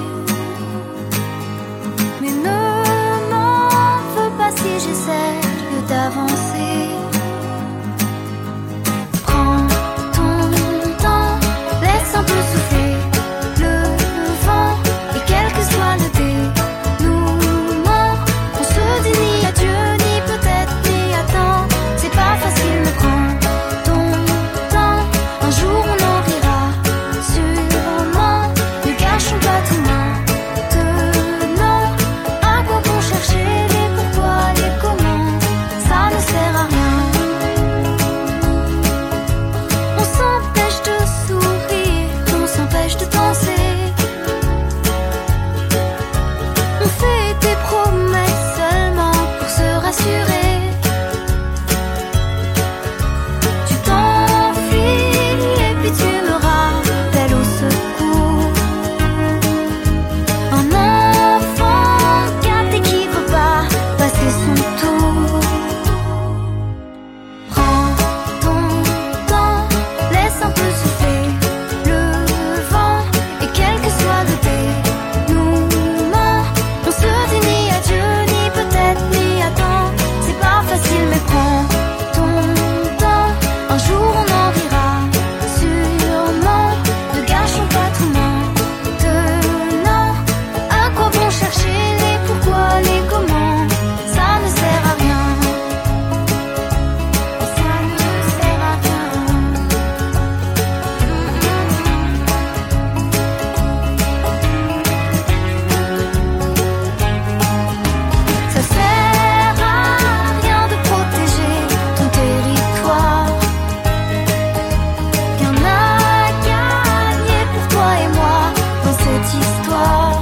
Mais ne m'en veux pas si j'essaie d'avancer. Prends ton temps, laisse un peu souffler le vent. Et quel que soit le dé ni adieu, ni peut-être, ni attends. C'est pas facile, mais prends ton temps. Un jour on en rira, sûrement. Ne gâchons pas tout maintenant. À quoi bon chercher les pourquoi, les comment? Ça ne sert à rien. On s'empêche de sourire, on s'empêche de danser. On fait des promesses se rassurer. Tu t'enfuis et puis tu me rappelles au secours. Un enfant gâté qui veut pas passer son tour. Prends ton temps, laisse un peu souffler le vent. Et quel que soit le dénouement, on se dit ni adieu, ni peut-être, ni c'est pas facile mais prends ton temps. Un jour on en rira, sûrement. Ne gâchons pas tout maintenant. À quoi bon chercher les pourquoi, les comment? Ça ne sert à rien. Ça ne sert à rien. Ça sert à rien de protéger ton territoire. Rien à gagner pour toi et moi dans cette histoire.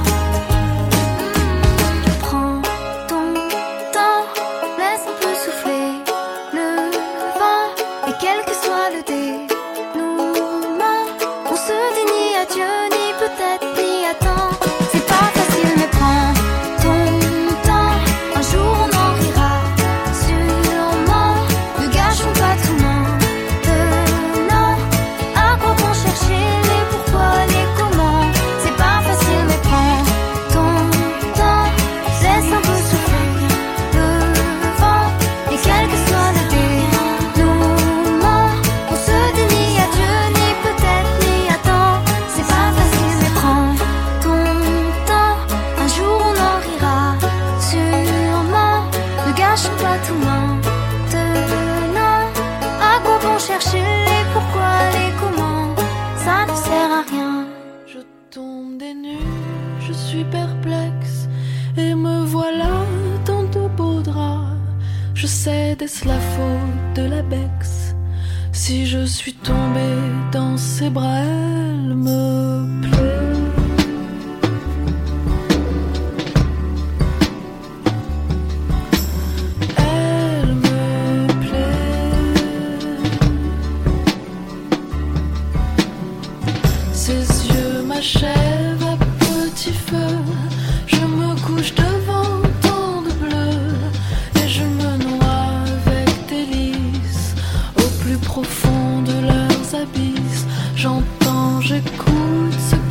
Prends ton temps, laisse un peu souffler le vent. Et quel que soit le dénouement, on se dit ni adieu, ni peut-être, ni attends. C'est pas facile mais prends ton temps. Un jour on en rira, sûrement. Ne gâchons pas tout maintenant. À quoi bon chercher les pourquoi, les comment? C'est pas facile mais prends ton temps. Laisse un peu souffler le vent. Et quel que soit le dénouement, on se dit ni adieu, ni peut-être, ni attends. C'est pas facile mais prends ton temps. Un jour on en rira, sûrement. Ne gâchons pas tout maintenant. À quoi bon chercher les pourquoi, les comment? Ça ne sert à rien. Je tombe des nues, je suis perplexe. Et me voilà dans de beaux draps. Je sais, est-ce la faute de la Bex? Si je suis tombée dans ses bras, elle me plaît. Elle me plaît. Ses yeux m'achèvent à petit feu. Je me couche devant tant de bleu. Et je me noie avec délice au plus profond de leurs abysses. J'entends, j'écoute ce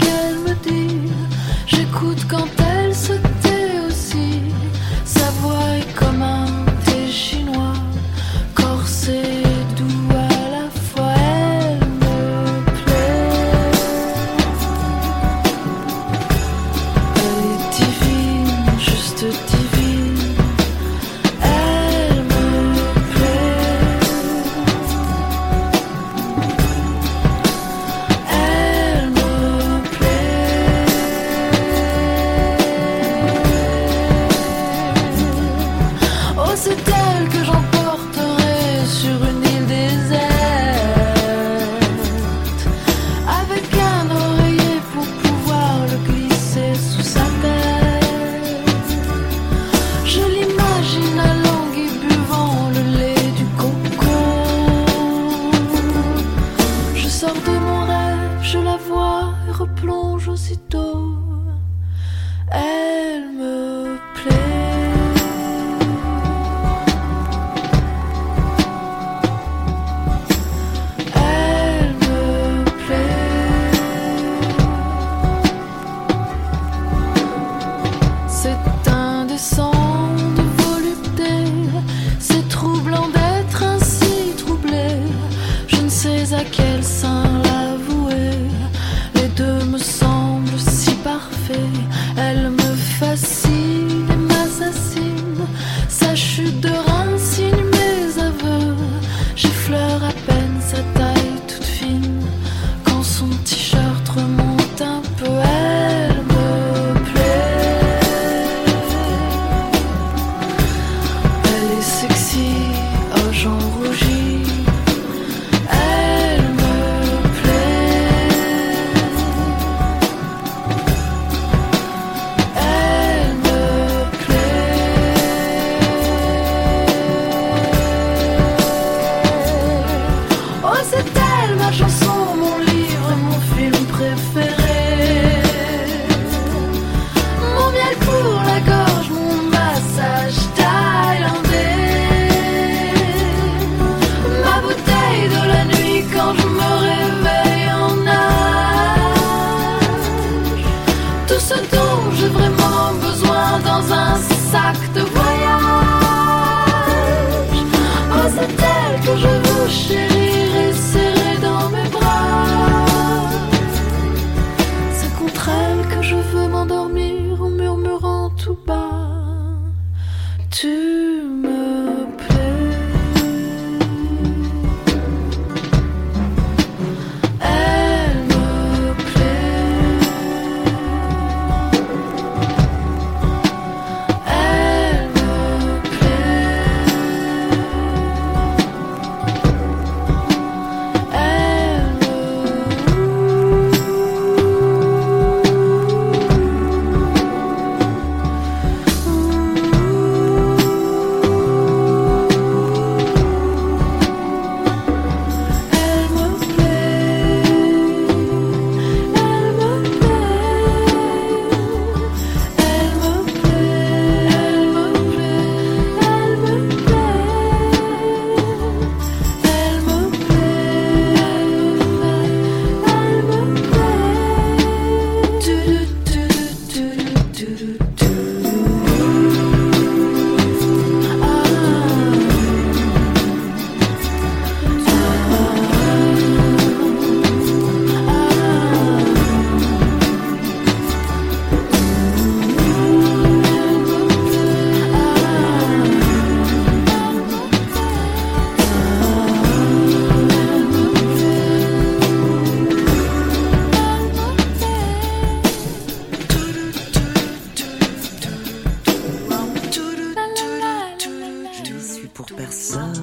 personne.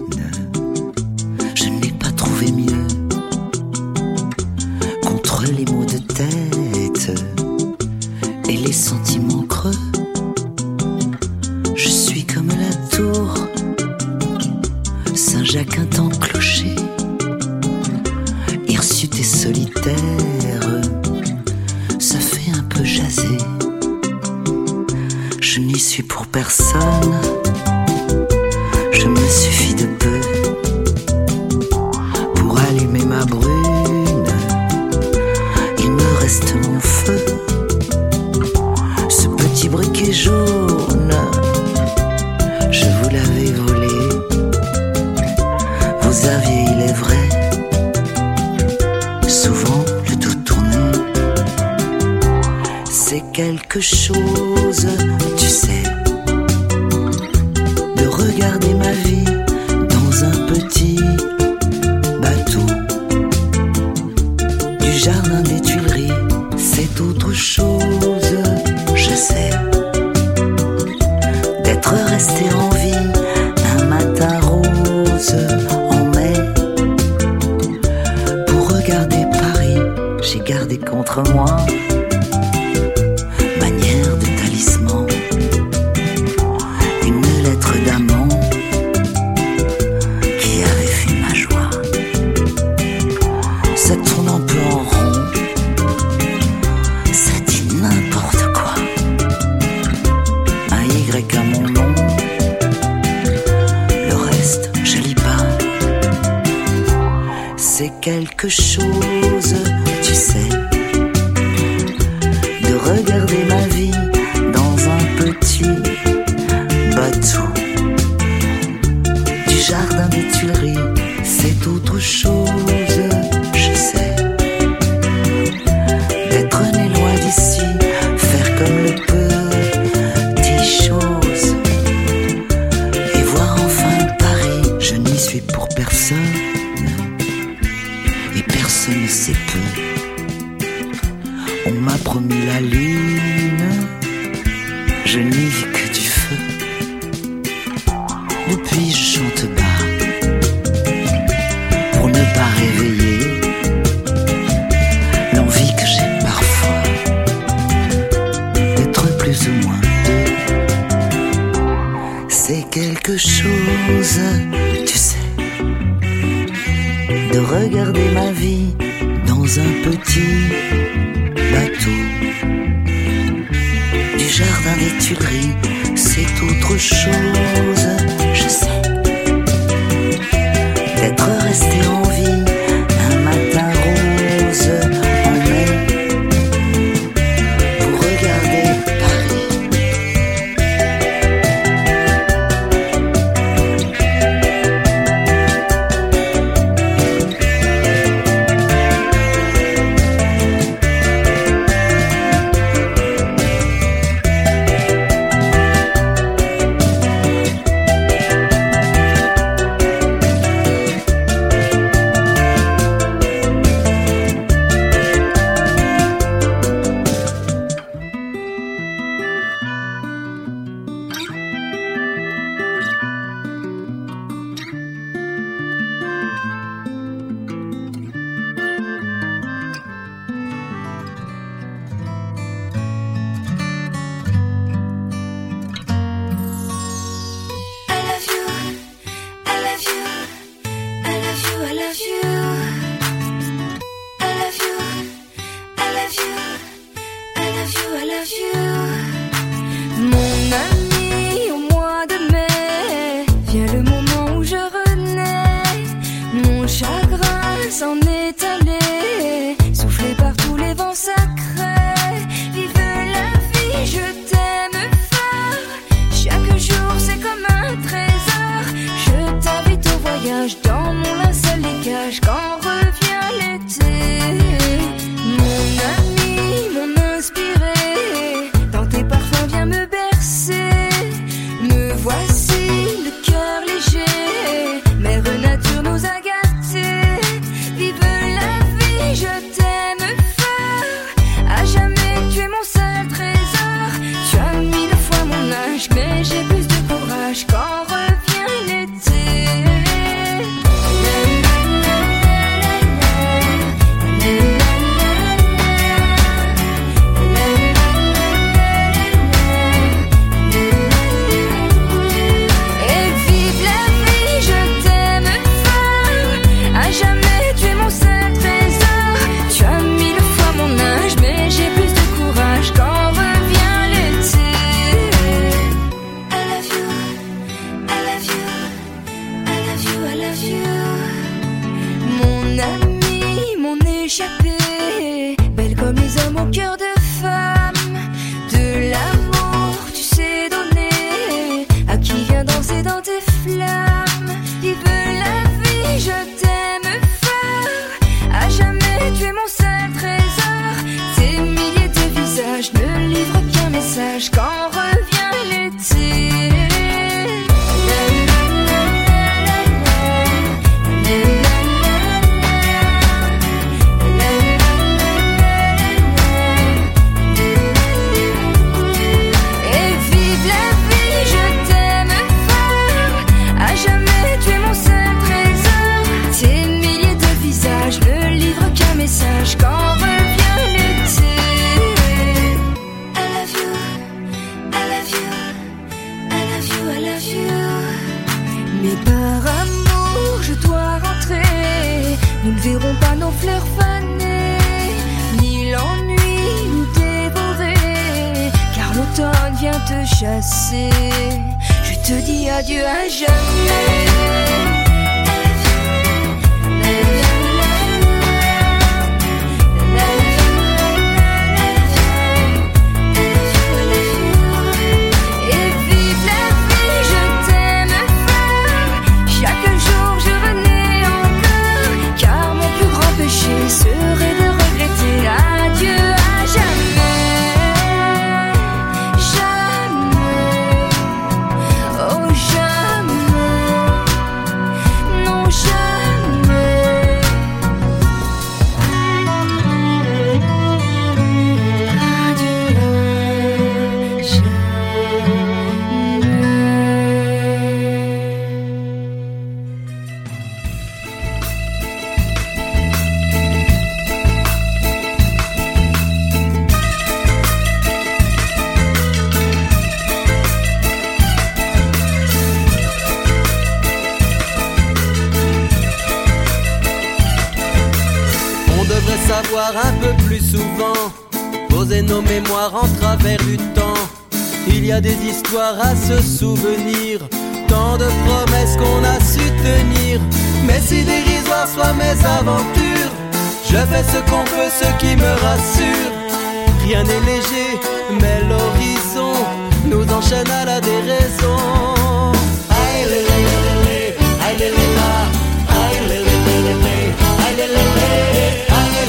Je n'ai pas trouvé mieux contre les maux de tête et les sentiments creux. Je suis comme la tour Saint-Jacques un temps clocher, hirsute et solitaire. Ça fait un peu jaser. Je n'y suis pour personne. Je me suffis de peu pour allumer ma brune. Il me reste mon feu, ce petit briquet jaune. Je vous l'avais volé. Vous aviez, il est vrai, souvent le dos tourné. C'est quelque chose, tu sais, de regarder ma vie dans un petit bateau du jardin des Tuileries. C'est autre chose, je sais, d'être resté en vie un matin rose en mai pour regarder Paris. J'ai gardé contre moi manière de talisman une lettre d'amant qui avait fait ma joie. Ça tourne un peu en rond, ça dit n'importe quoi. Un Y à mon nom, le reste je lis pas. C'est quelque chose, tu sais, de regarder ma vie dans un petit bateau du jardin des Tuileries. C'est autre chose, je sais, d'être né loin d'ici, faire comme le petit chose et voir enfin Paris. Je n'y suis pour personne et personne ne sait peu. On m'a promis la lune, je n'y vis que du feu. Depuis je chante bas pour ne pas réveiller l'envie que j'ai parfois d'être plus ou moins deux. C'est quelque chose, tu sais, de regarder ma vie dans un petit bateau du jardin des Tuileries. C'est autre chose, je sais, d'être resté en vie un matin rose en mai pour regarder Paris. Mais j'ai plus de courage quand revient l'été. love you. Mon ami, mon échappé, belle comme les hommes au cœur de femme. De l'amour, tu sais donner à qui vient danser dans tes flammes. Vive la vie, je t'aime fort. À jamais, tu es mon seul trésor. Tes milliers de visages ne livrent qu'un message quand revient l'été. Message quand revient l'été. I love you, I love you, I love you, I love you. Mais par amour je dois rentrer. Nous ne verrons pas nos fleurs faner, ni l'ennui nous dévorer, car l'automne vient te chasser. Je te dis adieu à jamais. Serait de regretter. Adieu à jamais, jamais, oh jamais, non jamais. Adieu à jamais. Savoir un peu plus souvent poser nos mémoires en travers du temps. Il y a des histoires à se souvenir, tant de promesses qu'on a su tenir. Mais si dérisoires soient mes aventures, je fais ce qu'on peut, ce qui me rassure. Rien n'est léger, mais l'horizon nous enchaîne à la déraison. Aïe lé lé lé lé, aïe lé lé la, aïe lé lé lé lé, aïe lé lé lé.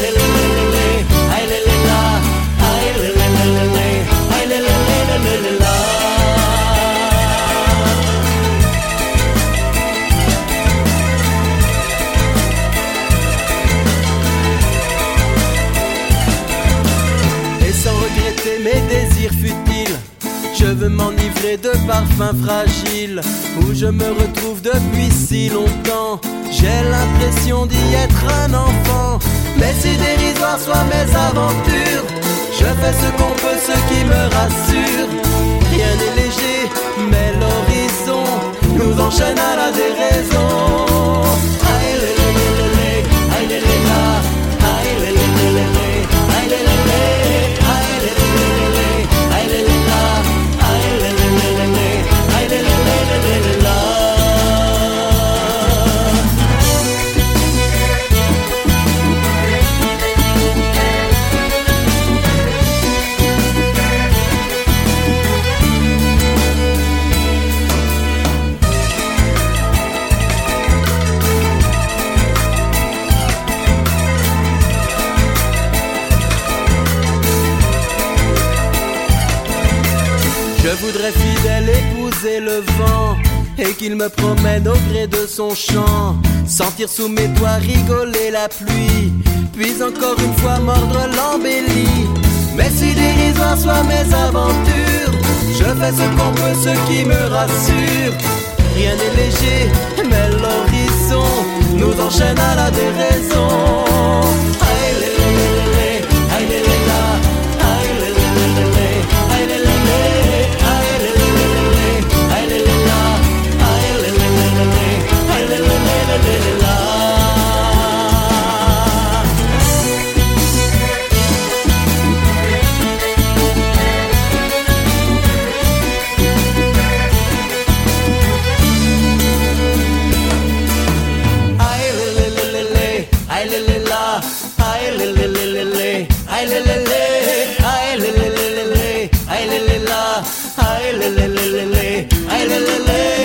Et sans regretter mes désirs futiles, je veux m'enivrer de parfums fragiles, où je me retrouve depuis si longtemps. J'ai l'impression d'y être un enfant. Mais si dérisoires soient mes aventures, je fais ce qu'on peut, ce qui me rassure. Rien n'est léger, mais l'horizon nous enchaîne à la déraison. Aïe lé lé lé lé, aïe lé lé la, aïe lé lé lé lé, aïe lé lé lé, aïe lé lé lé lé, aïe lé lé la, aïe lé lé lé lé, aïe lé lé lé lé la. Je voudrais fidèle épouser le vent et qu'il me promène au gré de son chant. Sentir sous mes doigts rigoler la pluie, puis encore une fois mordre l'embellie. Mais si dérisoires soient mes aventures, je fais ce qu'on peut, ce qui me rassure. Rien n'est léger, mais l'horizon nous enchaîne à la déraison. Aïe lé lé lé lé, aïe lé lé la, aïe lé lé lé lé, aïe lé lé lé. lé, lé, lé.